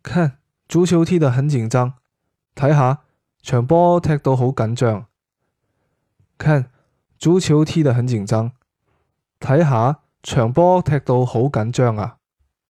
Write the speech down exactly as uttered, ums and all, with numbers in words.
看，足球踢得很緊張，睇下場波踢到好緊張。看，足球踢得很緊張，睇下場波踢到好緊張啊！